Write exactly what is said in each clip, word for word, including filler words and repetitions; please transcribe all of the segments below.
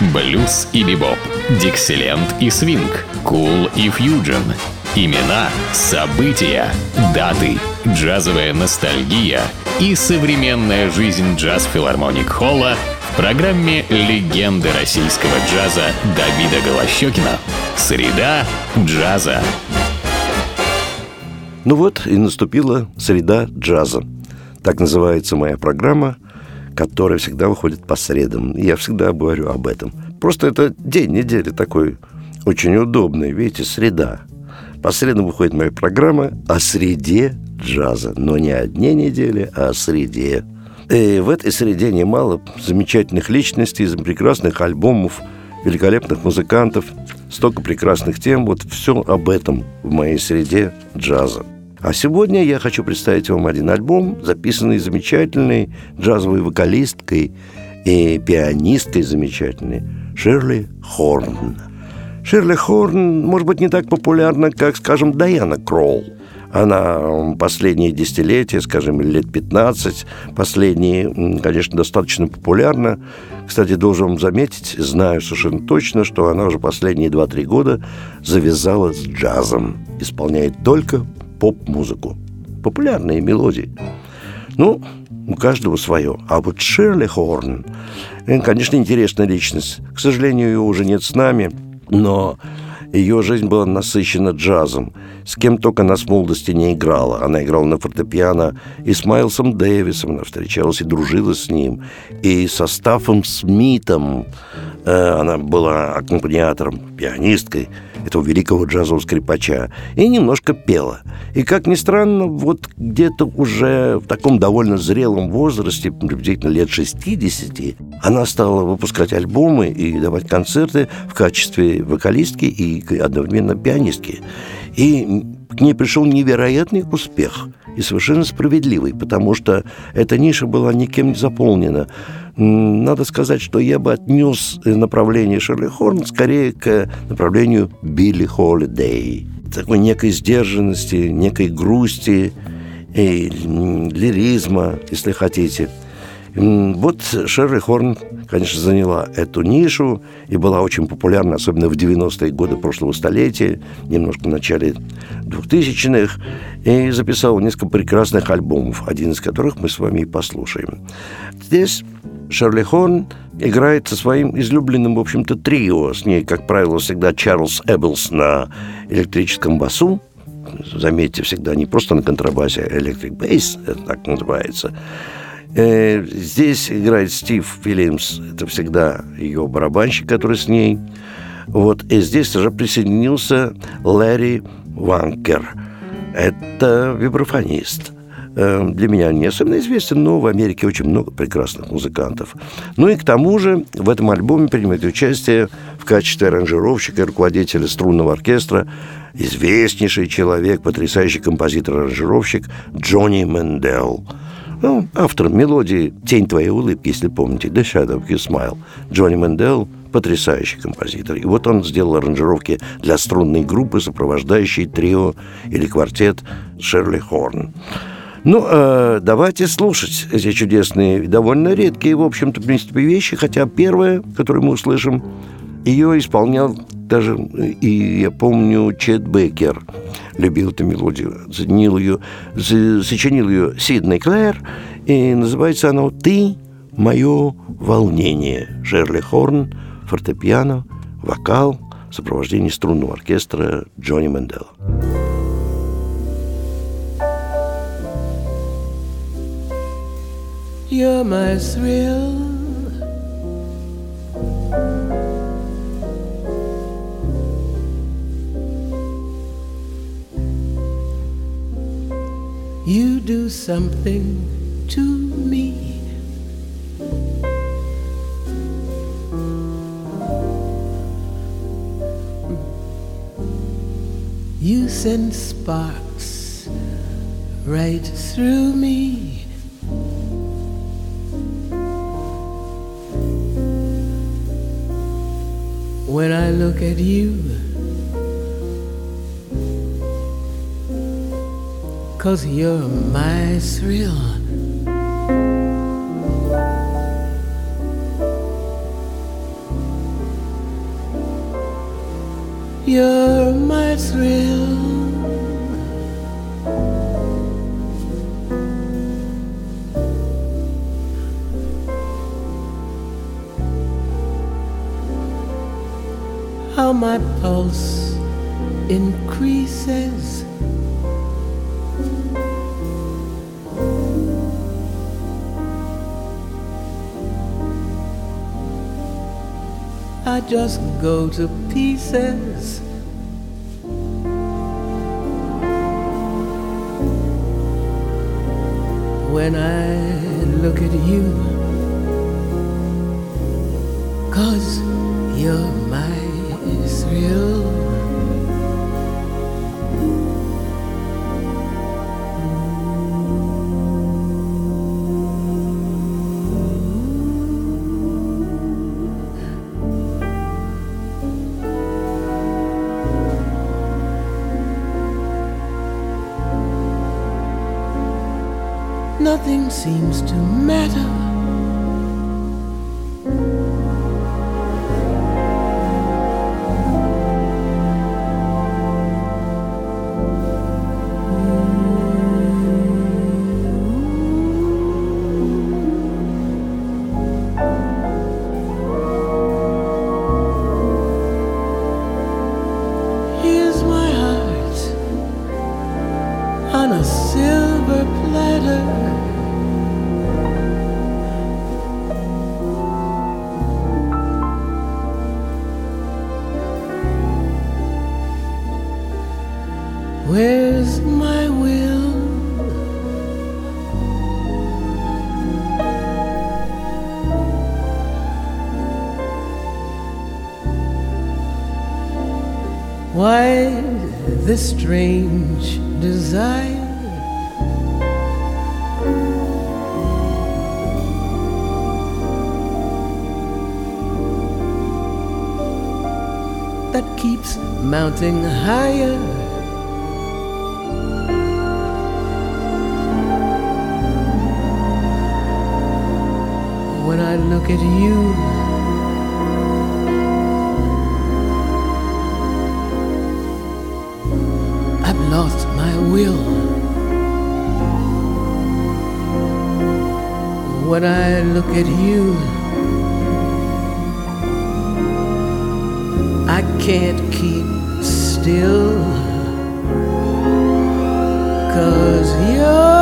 Блюз и бибоп, диксиленд и свинг, кул и фьюджен. Имена, события, даты, джазовая ностальгия и современная жизнь джаз-филармоник Холла в программе «Легенды российского джаза» Давида Голощёкина. Среда джаза. Ну вот и наступила среда джаза. Так называется моя программа, которая всегда выходит по средам. Я всегда говорю об этом. Просто это день недели такой очень удобный. Видите, среда. По средам выходит моя программа о среде джаза. Но не о дне недели, а о среде. И в этой среде немало замечательных личностей, прекрасных альбомов, великолепных музыкантов, столько прекрасных тем. Вот все об этом в моей среде джаза. А сегодня я хочу представить вам один альбом, записанный замечательной джазовой вокалисткой и пианисткой замечательной Шерли Хорн. Шерли Хорн, может быть, не так популярна, как, скажем, Дайана Кролл. Она последние десятилетия, скажем, лет пятнадцать, последние, конечно, достаточно популярна. Кстати, должен вам заметить, знаю совершенно точно, что она уже последние два-три года завязала с джазом. Исполняет только поп-музыку. Популярные мелодии. Ну, у каждого свое. А вот Шерли Хорн, конечно, интересная личность. К сожалению, ее уже нет с нами, но ее жизнь была насыщена джазом. С кем только она с молодости не играла. Она играла на фортепиано и с Майлсом Дэвисом. Она встречалась и дружила с ним. И со Стаффом Смитом. Она была аккомпаниатором, пианисткой этого великого джазового скрипача. И немножко пела. И, как ни странно, вот где-то уже в таком довольно зрелом возрасте, приблизительно лет шестидесяти, она стала выпускать альбомы и давать концерты в качестве вокалистки и одновременно пианистки. И к ней пришел невероятный успех. И совершенно справедливый, потому что эта ниша была никем не заполнена. Надо сказать, что я бы отнес направление Шерли Хорн скорее к направлению Билли Холидей. Такой некой сдержанности, некой грусти и лиризма, если хотите. Вот Шерли Хорн, конечно, заняла эту нишу и была очень популярна, особенно в девяностые годы прошлого столетия, немножко в начале двухтысячных, и записала несколько прекрасных альбомов, один из которых мы с вами и послушаем. Здесь Шерли Хорн играет со своим излюбленным, в общем-то, трио. С ней, как правило, всегда Чарльз Эбблс на электрическом басу. Заметьте, всегда не просто на контрабасе, а электрик бейс, это так называется. Здесь играет Стив Уильямс, это всегда ее барабанщик, который с ней. Вот. И здесь уже присоединился Ларри Ванкер. Это вибрафонист. Для меня не особенно известен, но в Америке очень много прекрасных музыкантов. Ну и к тому же в этом альбоме принимает участие в качестве аранжировщика и руководителя струнного оркестра известнейший человек, потрясающий композитор-аранжировщик Джонни Мэндел. Ну, автор мелодии «Тень твоей улыбки», если помните, «The Shadow of Your Smile». Джонни Мэндел – потрясающий композитор. И вот он сделал аранжировки для струнной группы, сопровождающей трио или квартет Шерли Хорн. Ну, э, давайте слушать эти чудесные, довольно редкие, в общем-то, в принципе, вещи. Хотя первое, которое мы услышим, ее исполнял даже, и я помню, Чет Бейкер любил эту мелодию, сочинил ее, сочинил ее Сидней Клэр, и называется она «Ты – мое волнение». Шерли Хорн, фортепиано, вокал, сопровождение струнного оркестра Джонни Мэндела. You're my thrill, you do something to me. You send sparks right through me. When I look at you, 'cause you're my thrill. thrill. How my pulse increases. I just go to pieces. When I look at you, 'cause you're my thrill. Nothing seems to matter. Here's my heart on a silver platter. Where's my will? Why this strange desire? That keeps mounting higher. When I look at you, I've lost my will. When I look at you, I can't keep still, 'cause you're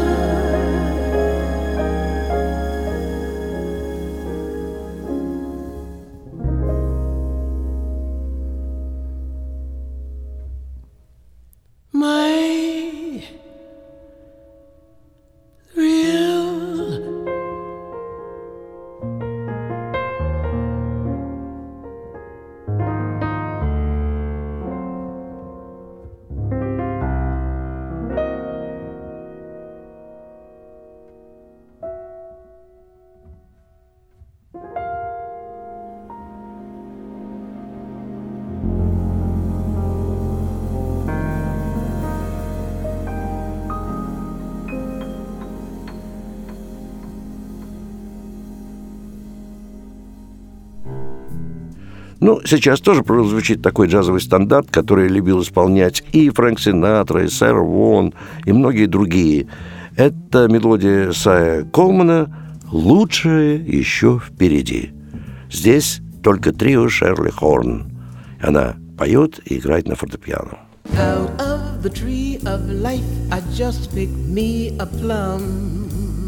Ну, сейчас тоже прозвучит такой джазовый стандарт, который любил исполнять и Фрэнк Синатра, и Сэр Вон, и многие другие. Это мелодия Сая Колмана «Лучшее еще впереди». Здесь только трио Шерли Хорн. Она поет и играет на фортепиано. Out of the tree of life I just picked me a plum.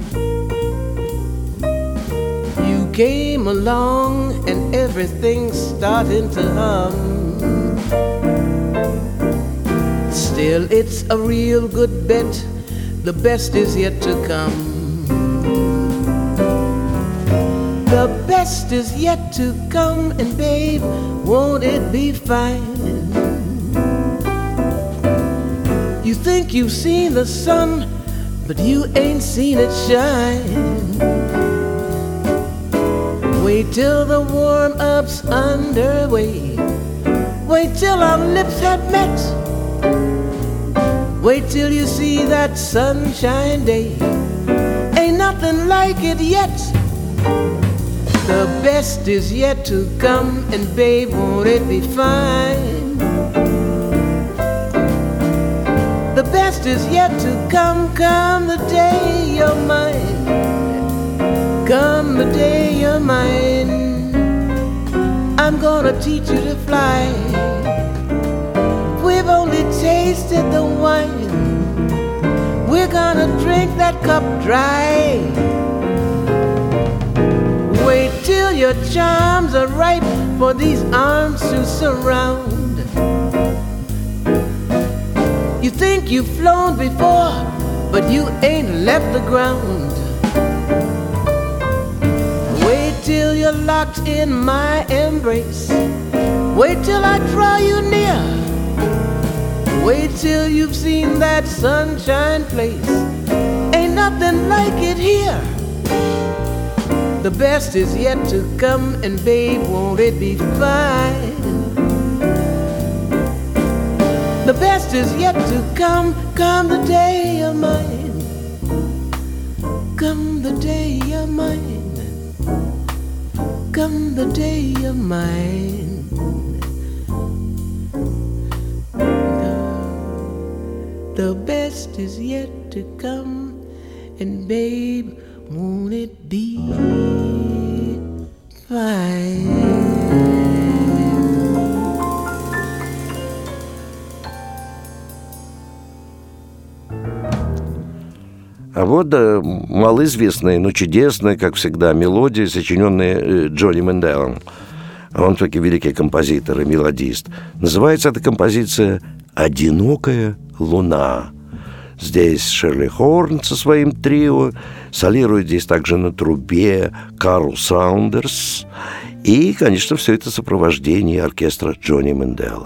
You came along and everything's starting to hum. Still, it's a real good bet. The best is yet to come. The best is yet to come, and babe, won't it be fine? You think you've seen the sun, but you ain't seen it shine. Wait till the warm-up's underway. Wait till our lips have met. Wait till you see that sunshine day. Ain't nothing like it yet. The best is yet to come, and babe, won't it be fine? The best is yet to come, come the day you're mine. Come the day you're mine. I'm gonna teach you to fly. We've only tasted the wine. We're gonna drink that cup dry. Wait till your charms are ripe for these arms to surround. You think you've flown before, but you ain't left the ground. Wait till you're locked in my embrace. Wait till I draw you near. Wait till you've seen that sunshine place. Ain't nothing like it here. The best is yet to come, and babe, won't it be fine? The best is yet to come, come the day you're mine. Come the day you're mine. Come the day you're mine. The, the best is yet to come, and babe, won't it be fine? А вот да, малоизвестная, но чудесная, как всегда, мелодия, сочиненная Джонни Менделом. Он таки великий композитор и мелодист. Называется эта композиция «Одинокая луна». Здесь Шерли Хорн со своим трио, солирует здесь также на трубе Карл Саундерс. И, конечно, все это сопровождение оркестра Джонни Мендела.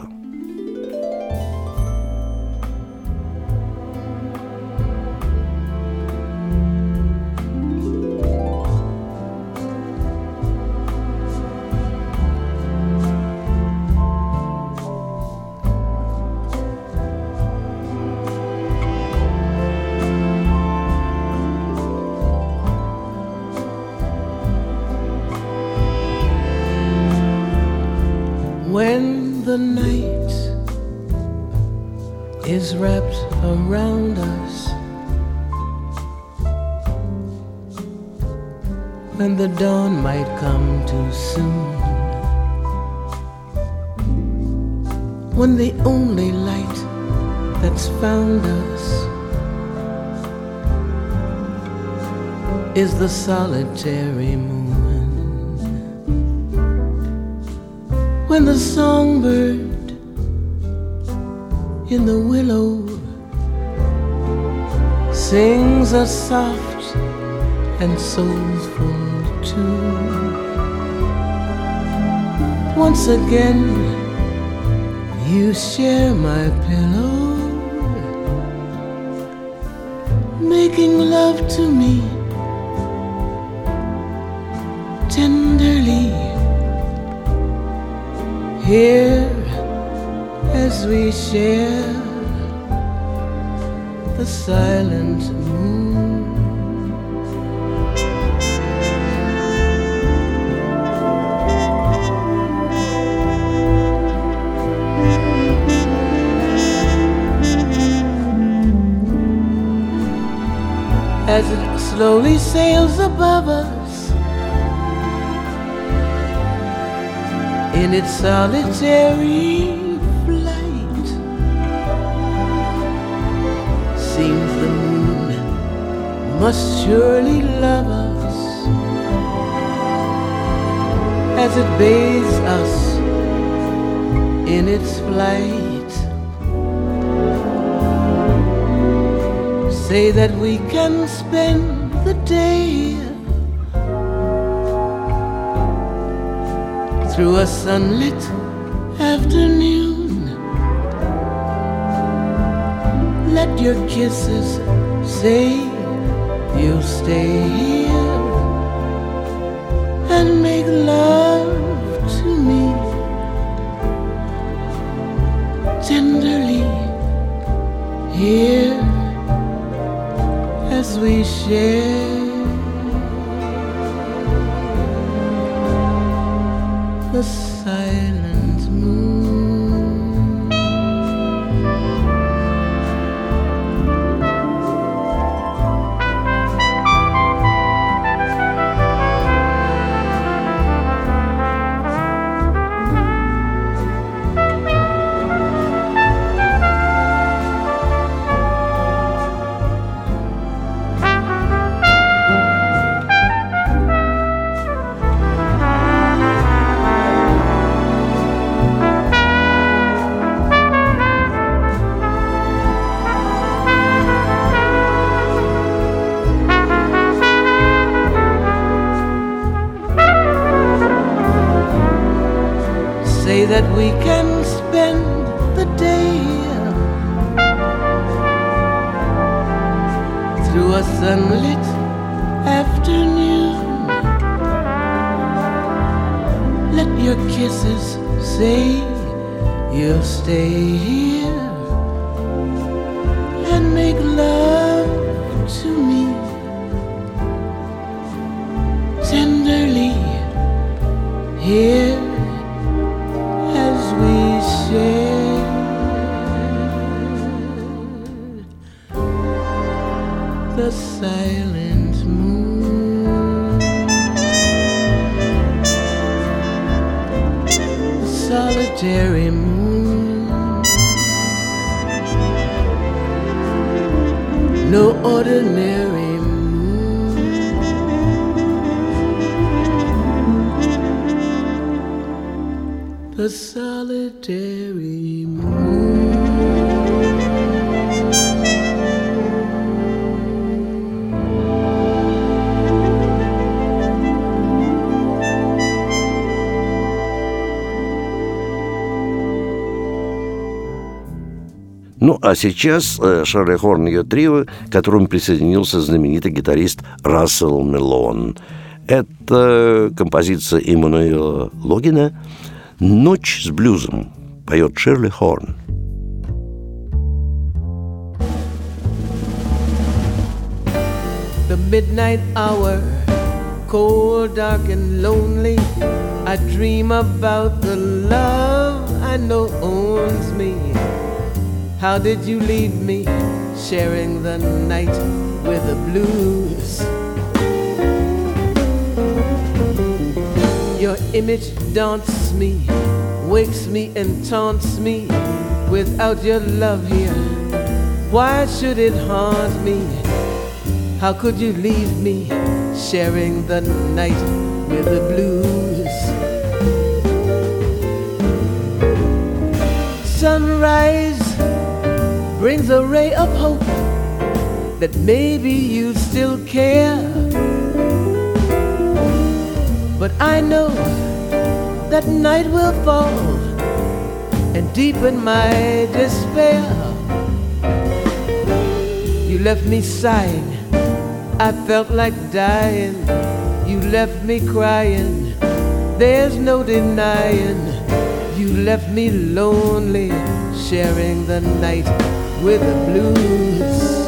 When the night is wrapped around us, when the dawn might come too soon, when the only light that's found us is the solitary moon. When the songbird in the willow sings a soft and soulful tune, once again you share my pillow, making love to me tenderly. Here, as we share the silent moon, as it slowly sails above us in its solitary flight, seems the moon must surely love us as it bathes us in its flight. Say that we can spend the day through a sunlit afternoon. Let your kisses say you'll stay here and make love to me tenderly. Here, as we share the silent moon. that we can spend the day through a sunlit afternoon. Let your kisses say you'll stay here and make love to me tenderly here as we share the silent moon, the solitary moon, no ordinary moon, the solitary moon. Ну, а сейчас э, Шерли Хорн и ее трио, к которому присоединился знаменитый гитарист Рассел Мелон. Это композиция Эммануэла Логина «Ночь с блюзом», поет Шерли Хорн. The midnight hour, cold, dark and lonely, I dream about the love I know owns me. How did you leave me, sharing the night with the blues? Your image daunts me, wakes me and taunts me. Without your love here, why should it haunt me? How could you leave me, sharing the night with the blues? Sunrise brings a ray of hope that maybe you still care. But I know that night will fall and deepen my despair. You left me sighing, I felt like dying. You left me crying, there's no denying. You left me lonely, sharing the night with the blues.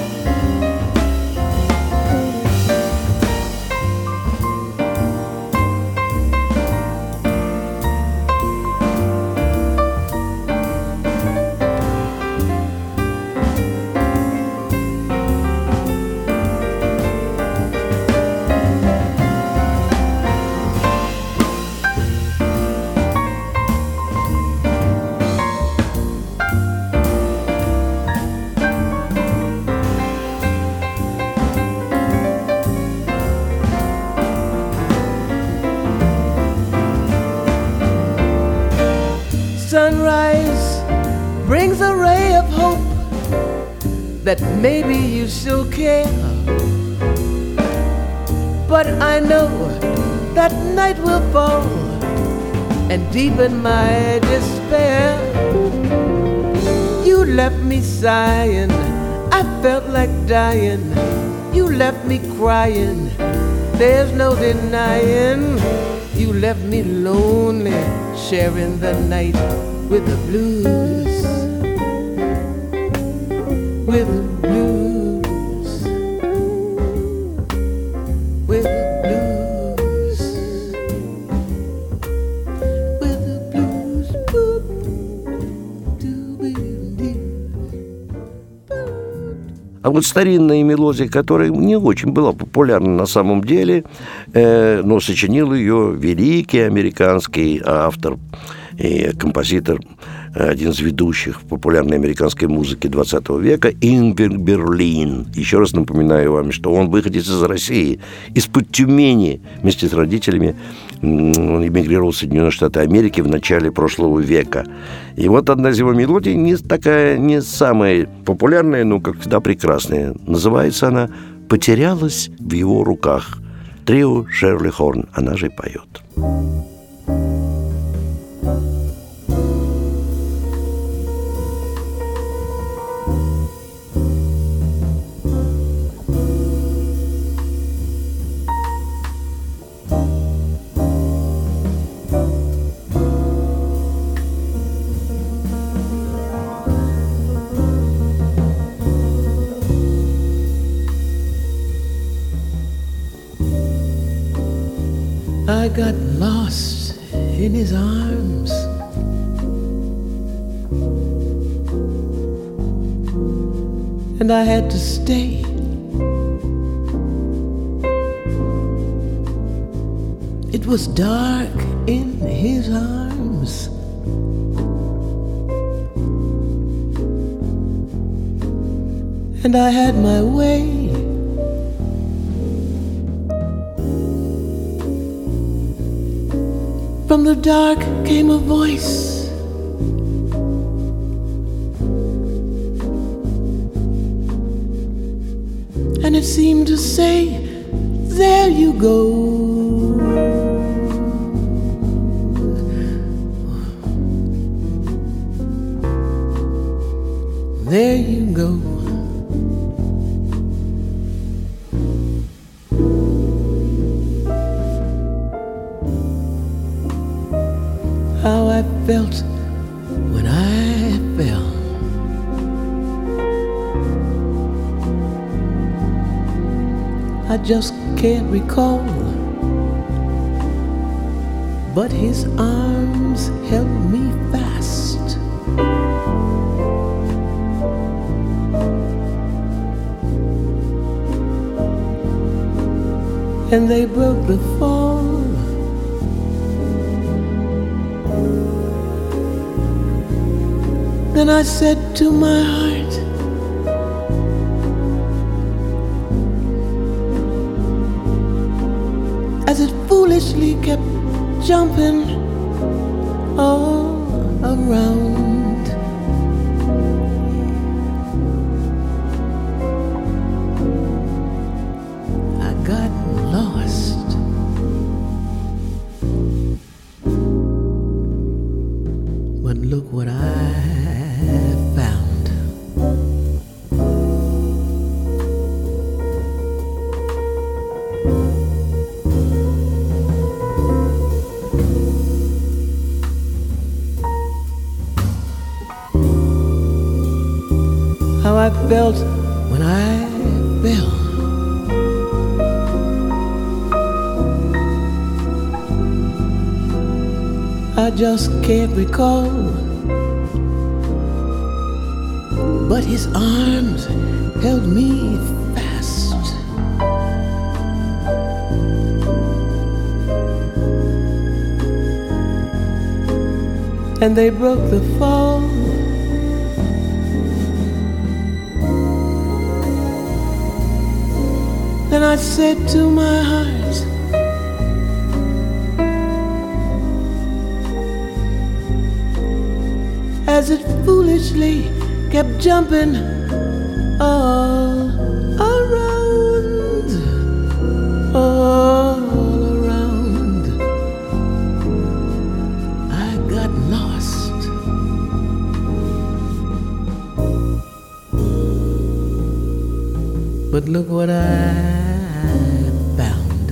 Sunrise brings a ray of hope that maybe you still care. But I know that night will fall and deepen my despair. You left me sighing, I felt like dying. You left me crying, there's no denying. You left me lonely, sharing the night with the blues, with the blues, with the blues, with the blues. Boop, doo-doo-doo. А вот старинная мелодия, которая не очень была популярна на самом деле, э, но сочинил ее великий американский автор и композитор, один из ведущих в популярной американской музыке двадцатого века, Ингбер Берлин. Еще раз напоминаю вам, что он выходец из России, из-под Тюмени. Вместе с родителями он эмигрировал в Соединенные Штаты Америки в начале прошлого века. И вот одна из его мелодий, не такая, не самая популярная, но, как всегда, прекрасная. Называется она «Потерялась в его руках». Трио Шерли Хорн, она же поет. I got lost in his arms. And I had to stay. It was dark in his arms. And I had my way. From the dark came a voice. And it seemed to say, there you go. There you go. How I felt when I fell. I just can't recall. But his arms held me fast. And they broke the fall. Then I said to my heart, as it foolishly kept jumping all around, I got lost. But look what I found. How I felt when I fell. I just can't recall. But his arms held me fast. And they broke the fall. Then I said to my heart, as it foolishly kept jumping all around, all around, I got lost. But look what I found.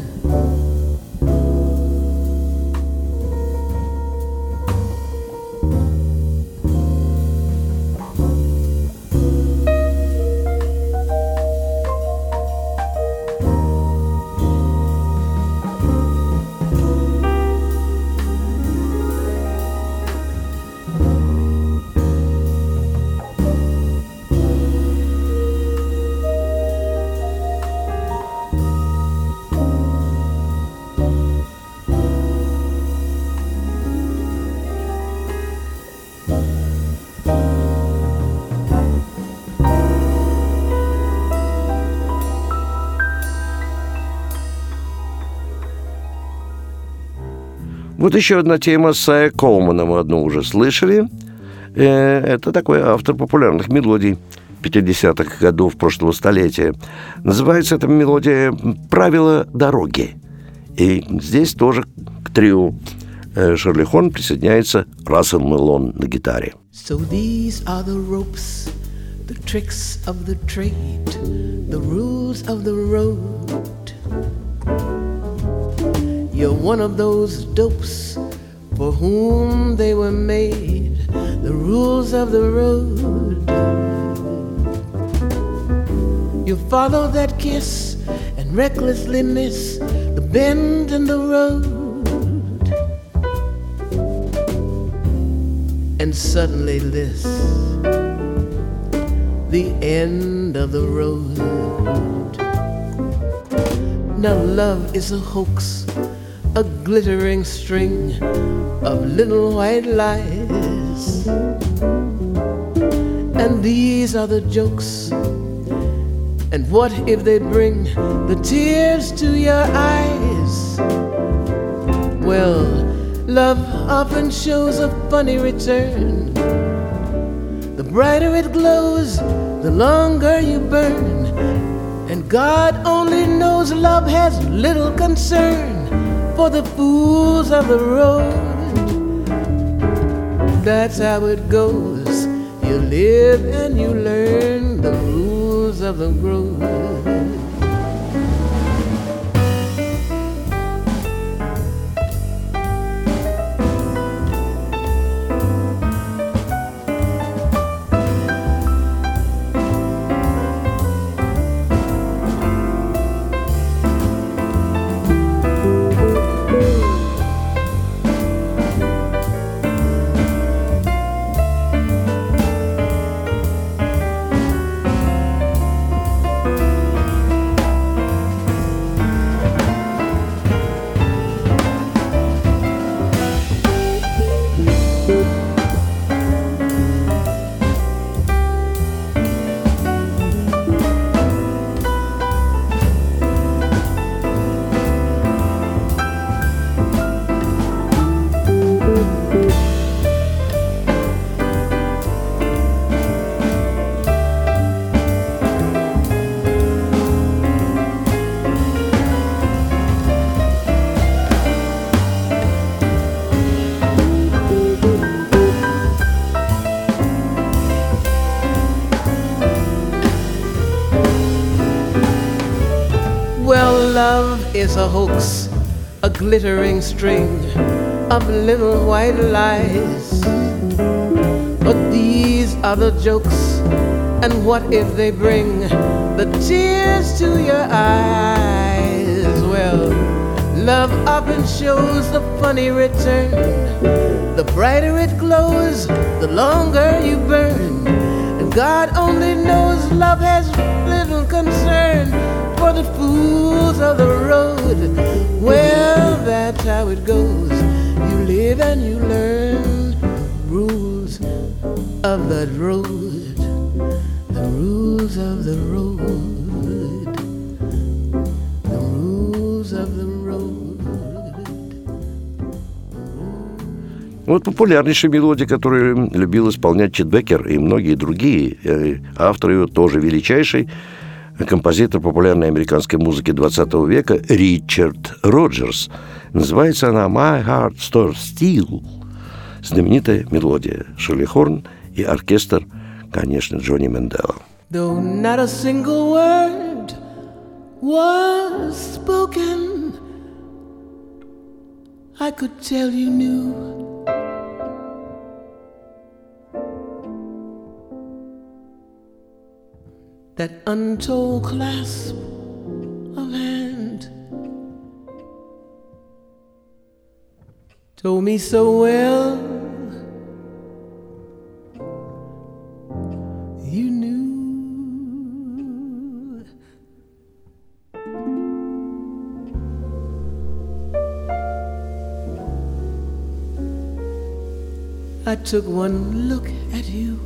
Вот еще одна тема с Сая Колмана, мы одну уже слышали. Это такой автор популярных мелодий пятидесятых годов прошлого столетия. Называется эта мелодия «Правила дороги». И здесь тоже к трио Шерли Хорн присоединяется Рассел Мелон на гитаре. So these are the ropes, the tricks of the trade, the rules of the road. You're one of those dopes for whom they were made, the rules of the road. You follow that kiss and recklessly miss the bend in the road. and suddenly this, the end of the road. Now love is a hoax, a glittering string of little white lies, and these are the jokes. And what if they bring the tears to your eyes? Well, love often shows a funny return. The brighter it glows, the longer you burn. And God only knows love has little concern for the fools of the road. That's how it goes. You live and you learn the rules of the road. Is a hoax, a glittering string of little white lies. But these are the jokes, and what if they bring the tears to your eyes? Well, love often shows the funny return. The brighter it glows, the longer you burn. And God only knows love has little concern for the fools of the road. Well, that's how it goes. You live and you learn rules of the road, the rules of the road, the rules of the road. Вот популярнейшая мелодия, которую любил исполнять Чет Бекер и многие другие, авторы ее тоже величайший, композитор популярной американской музыки двадцатого века Ричард Роджерс. Называется она «My Heart Stood Still». Знаменитая мелодия. Шерли Хорн и оркестр, конечно, Джонни Мендела. Though not a single word was spoken, I could tell you knew that untold clasp of hand told me so well you knew. I took one look at you,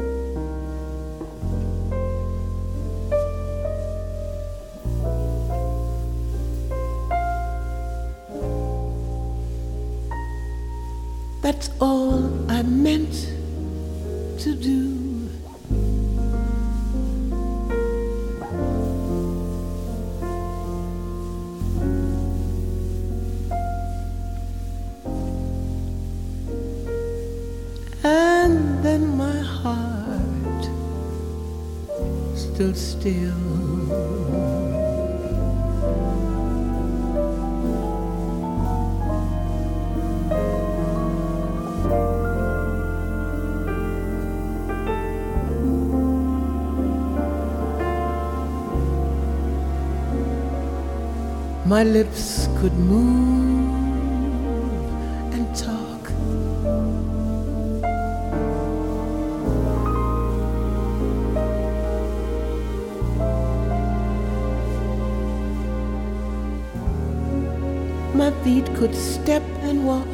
that's all I meant to do. And then my heart stood still. My lips could move and talk, my feet could step and walk.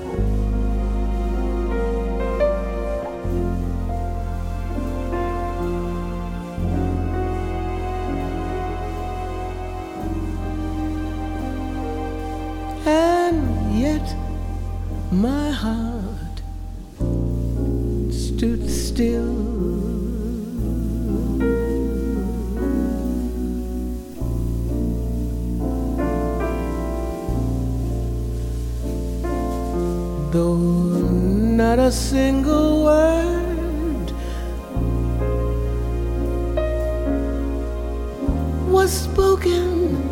And yet my heart stood still. Though not a single word was spoken,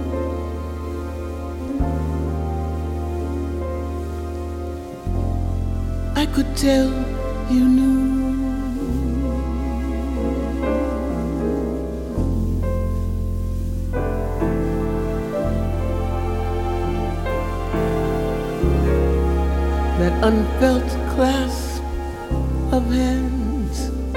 I could tell you knew. That unfelt clasp of hands,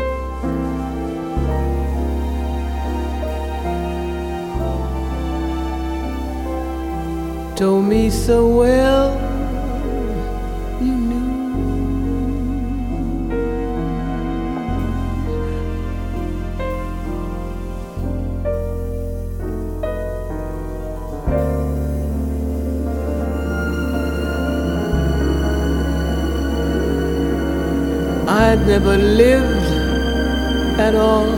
told me so well you knew. I'd never lived at all.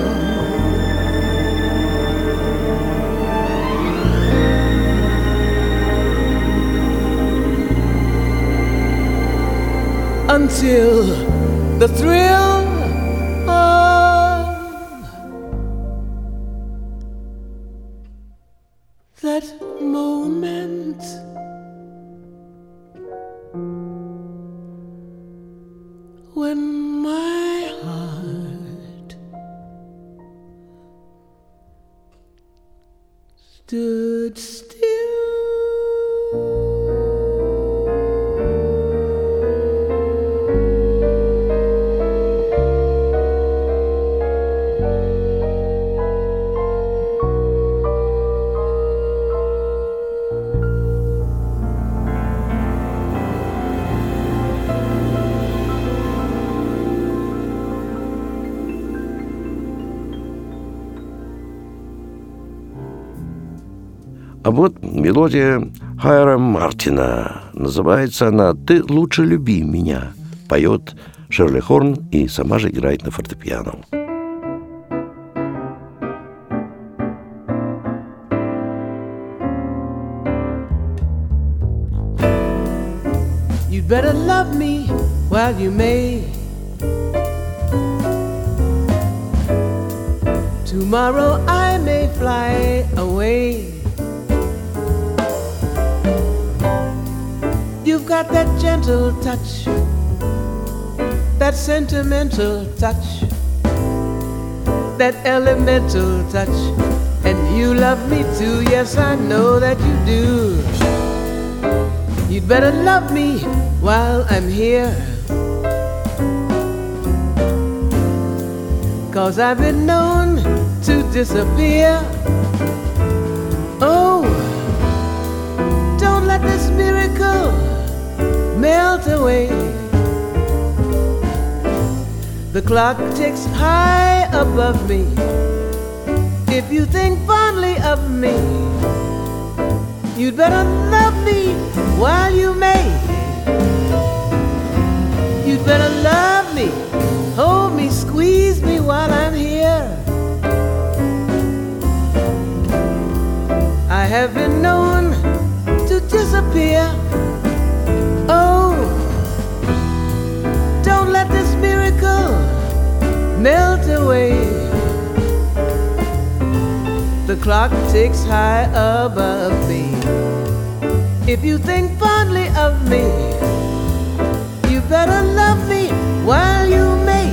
Until the thrill of that moment when my heart stood still. А вот мелодия Хайрама Мартина. Называется она «Ты лучше люби меня». Поет Шерли Хорн и сама же играет на фортепиано. You better love me while you may. Tomorrow I may fly away. You've got that gentle touch, that sentimental touch, that elemental touch, and you love me too, yes I know that you do. You'd better love me while I'm here, 'cause I've been known to disappear. Oh, don't let this miracle melt away. The clock ticks high above me. If you think fondly of me, you'd better love me while you may. You'd better love me, hold me, squeeze me while I'm here. I have been known to disappear. Oh, don't let this miracle melt away. The clock ticks high above me. If you think fondly of me, you better love me while you may.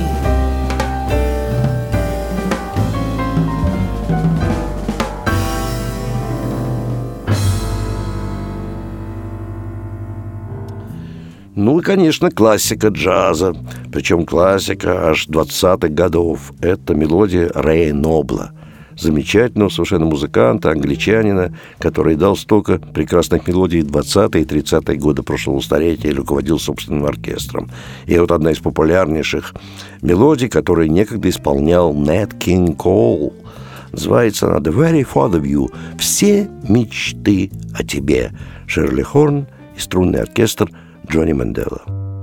Ну и, конечно, классика джаза, причем классика аж двадцатых годов. Это мелодия Рэя Нобла. замечательного совершенно музыканта, англичанина, который дал столько прекрасных мелодий в двадцатые и тридцатые годы прошлого столетия и руководил собственным оркестром. И вот одна из популярнейших мелодий, которую некогда исполнял Нэт Кинг Коул, называется она «The Very Thought of You» — «Все мечты о тебе». Шерли Хорн и струнный оркестр Джонни Мендела.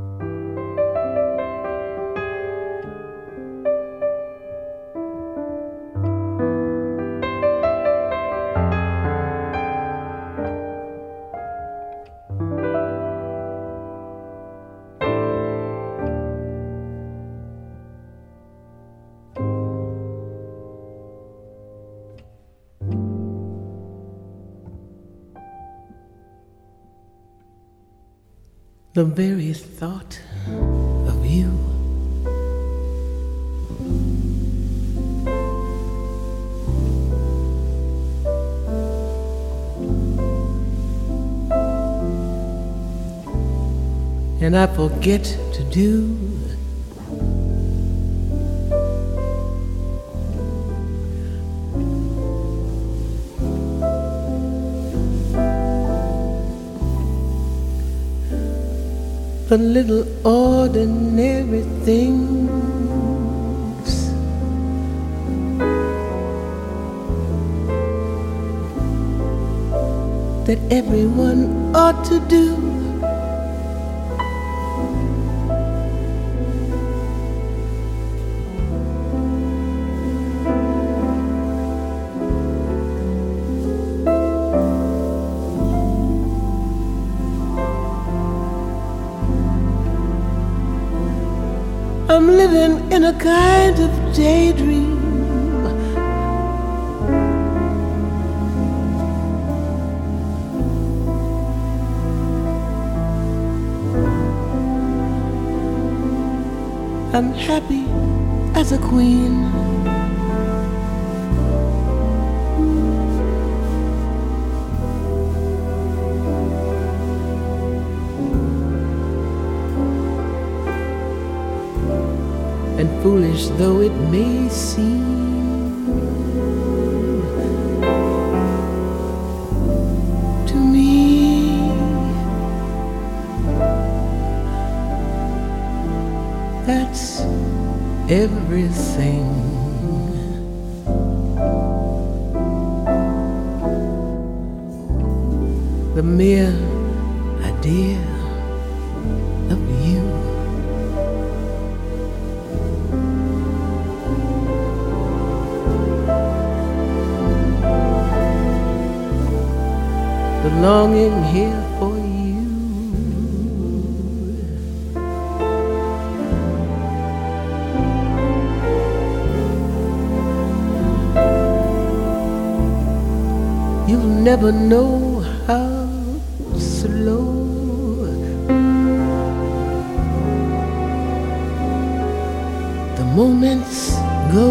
The very thought of you and I forget to do the little ordinary things that everyone ought to do. I'm living in a kind of daydream, I'm happy as a queen. And foolish though it may seem to me, that's everything. The mere idea of you. The longing here for you. You'll never know how slow the moments go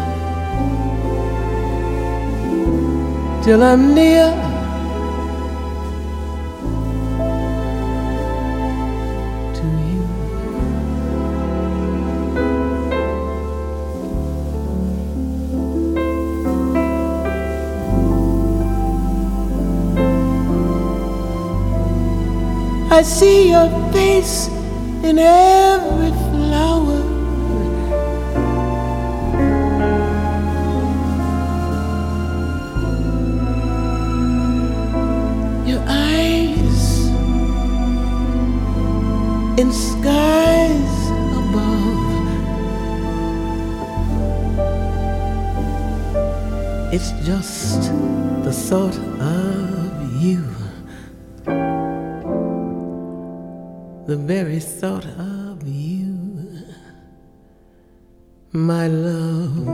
till I'm near to you. I see your face in every flower, your eyes in skies above. It's just the thought of you, the very thought of you, my love.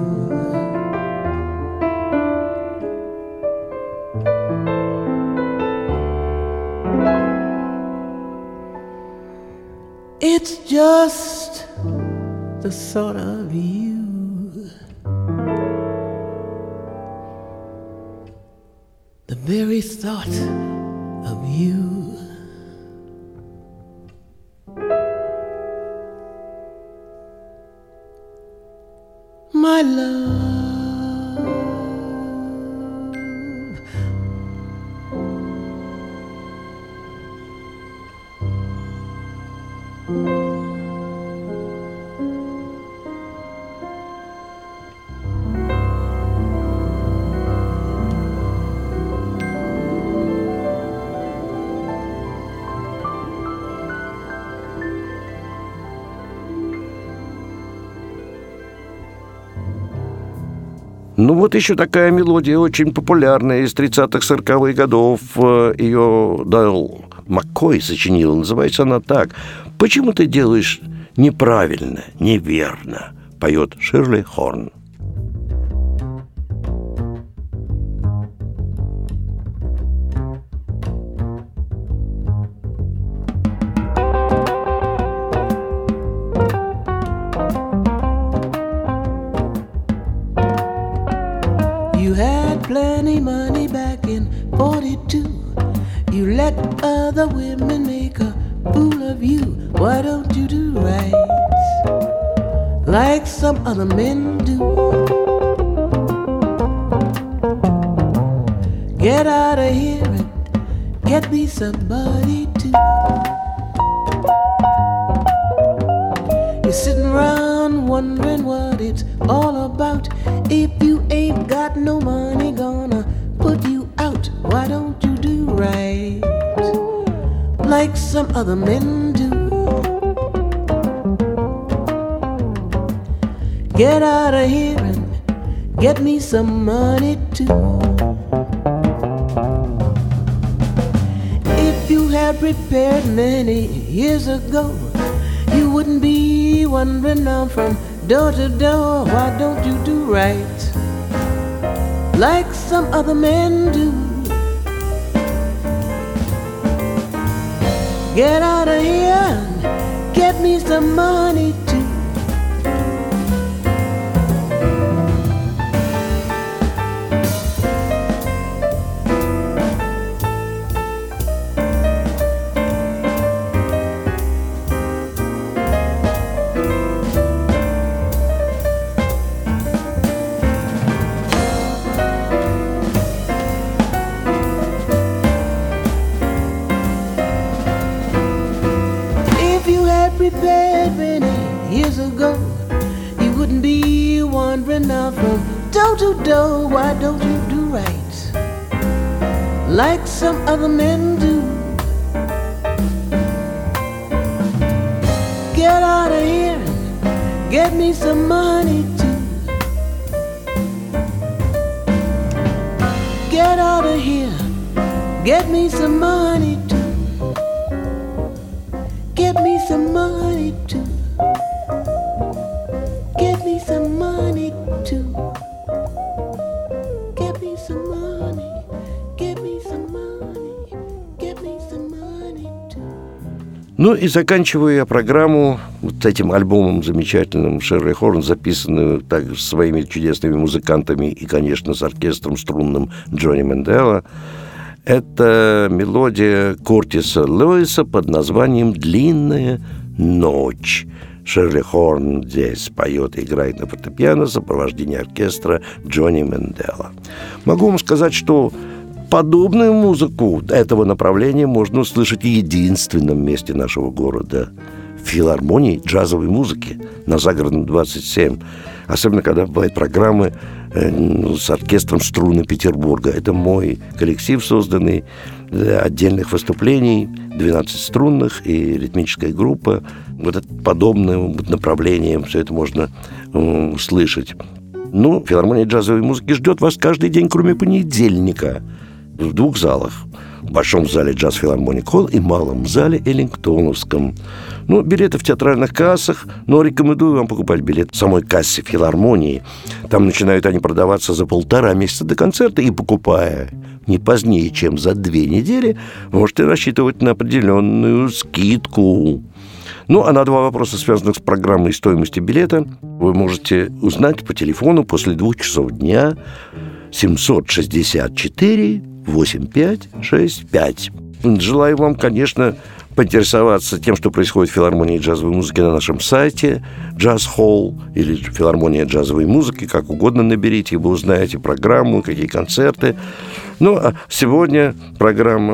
It's just the thought of you, the very thought of you, my love. Ну вот еще такая мелодия, очень популярная, из тридцатых-сороковых годов. Ее дал Маккой, сочинил. Называется она так: «Почему ты делаешь неправильно, неверно?» Поет Ширли Хорн. Plenty money back in forty-two. You let other women make a fool of you. Why don't you do right like some other men do? Get out of here and get me somebody too. You're sitting around wondering what it's all about. If you ain't got no money, gonna put you out. Why don't you do right like some other men do? Get out of here and get me some money too. If you had prepared many years ago, you wouldn't be wandering now from door to door. Why don't you do right like some other men do? Get out of here and get me some money too. Prepared many years ago, you wouldn't be wandering now from door to door. Why don't you do right like some other men do? Get out of here and get me some money too. Get out of here, get me some money too. Get me some money too. Get me some money too. Get me some money. Get me some money. Get me some money too. Ну и заканчиваю я программу вот этим альбомом замечательным Ширли Хорн, записанным также своими чудесными музыкантами и, конечно, с оркестром струнным Джонни Менделла. Это мелодия Куртиса Льюиса под названием «Длинная ночь». Ширли Хорн здесь поет и играет на фортепиано в сопровождении оркестра Джонни Менделла. Могу вам сказать, что подобную музыку этого направления можно услышать в единственном месте нашего города – в филармонии джазовой музыки на Загородном двадцать семь. Особенно, когда бывают программы э, с оркестром струны Петербурга. Это мой коллектив, созданный для отдельных выступлений, двенадцать струнных и ритмическая группа. Вот это подобное направление, все это можно э, услышать. Ну, филармония джазовой музыки ждет вас каждый день, кроме понедельника, в двух залах. В большом зале Джаз Филармоник Холл и малом зале Эллингтоновском. Ну, билеты в театральных кассах, но рекомендую вам покупать билет в самой кассе филармонии. Там начинают они продаваться за полтора месяца до концерта, и, покупая не позднее, чем за две недели, вы можете рассчитывать на определенную скидку. Ну, а на два вопроса, связанных с программой и стоимостью билета, вы можете узнать по телефону после двух часов дня семьсот шестьдесят четыре восемьдесят пять шестьдесят пять. Желаю вам, конечно, поинтересоваться тем, что происходит в филармонии джазовой музыки на нашем сайте Джаз Холл или филармония джазовой музыки, как угодно наберите, и вы узнаете программу, какие концерты. Ну, а сегодня программа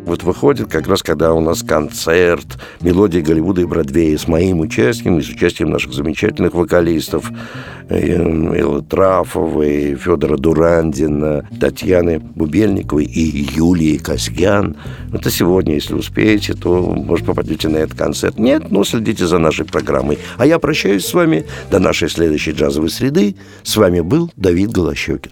вот выходит как раз, когда у нас концерт «Мелодии Голливуда и Бродвея» с моим участием и с участием наших замечательных вокалистов Эллы Трафовой, Федора Дурандина, Татьяны Бубельниковой и Юлии Касьян. Это сегодня, если успеете, то, может, попадете на этот концерт. Нет, но следите за нашей программой. А я прощаюсь с вами до нашей следующей джазовой среды. С вами был Давид Голощёкин.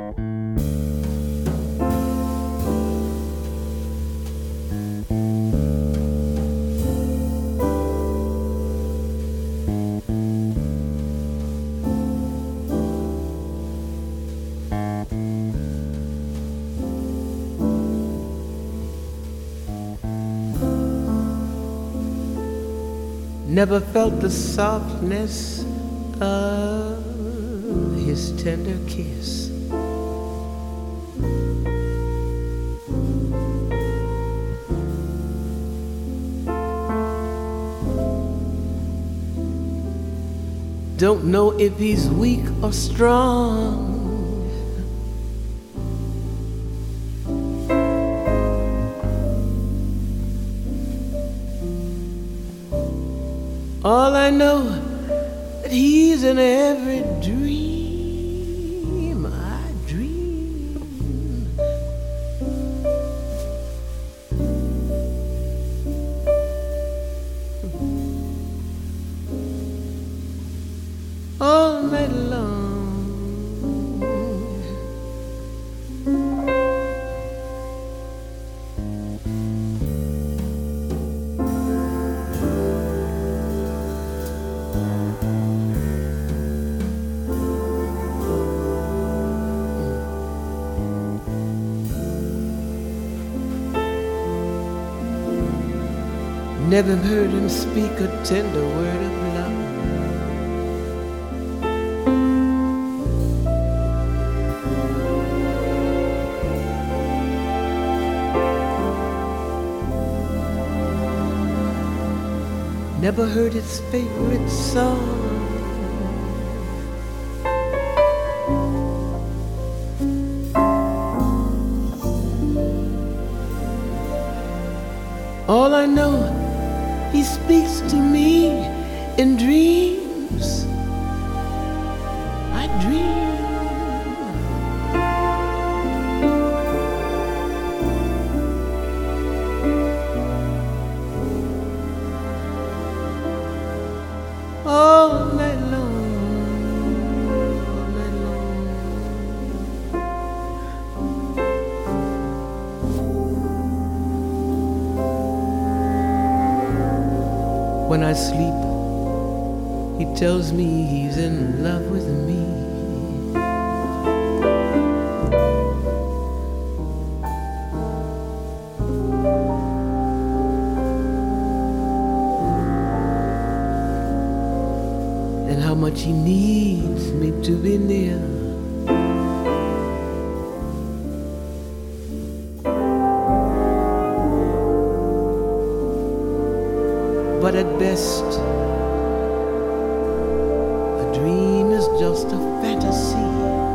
Never felt the softness of his tender kiss. Don't know if he's weak or strong. All I know that he's in every dream I dream. All night long. Never heard him speak a tender word of love. Never heard his favorite song. All I know, he speaks to me in dreams. I dream. All night long, all night long. When I sleep, he tells me he's in love with me. And how much he needs me to be near. But at best, a dream is just a fantasy.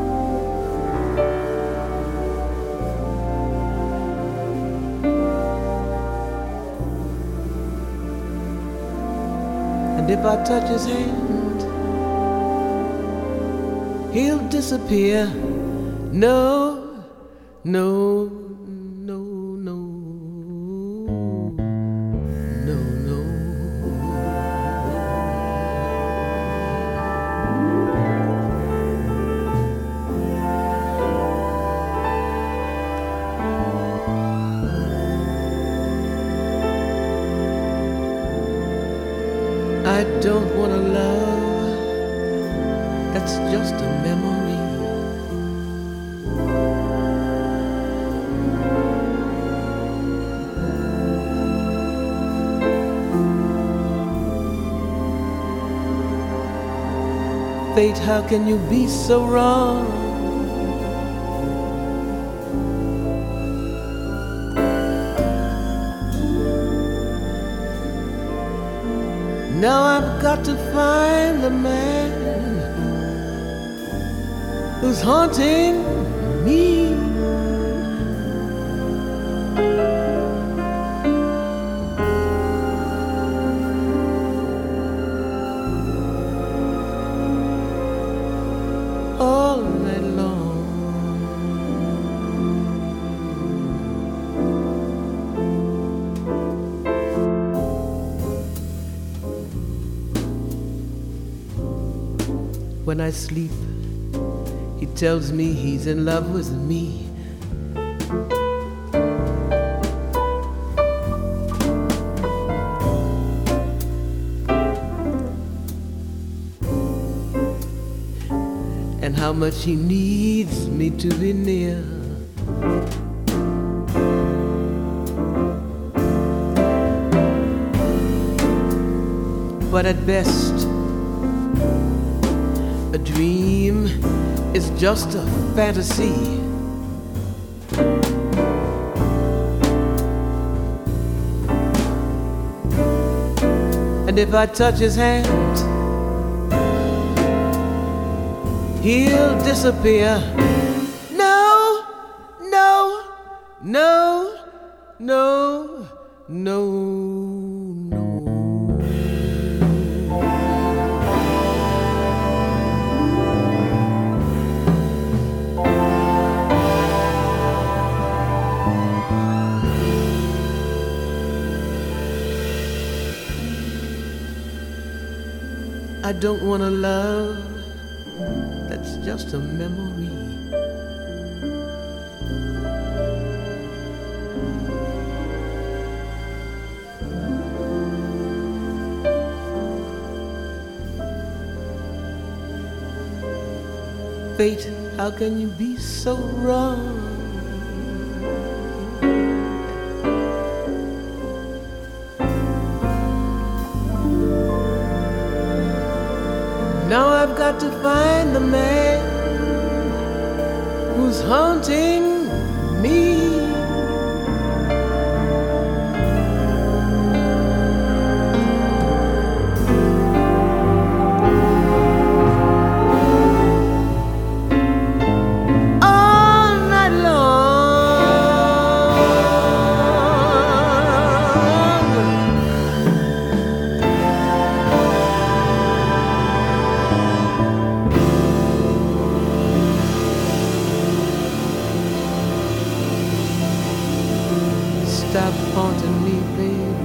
And if I touch his hand, he'll disappear. No, no, no, no, no, no. I don't want a love that's just a memory. Fate, how can you be so wrong? Now I've got to find the man who's haunting me. when I sleep, he tells me he's in love with me. And how much he needs me to be near. But at best, a dream is just a fantasy. And if I touch his hand, he'll disappear. No, no, no, no, no, no. I don't want a love that's just a memory. Fate, how can you be so wrong? Now I've got to find the man who's haunting me. All night long. Stop haunting me, baby.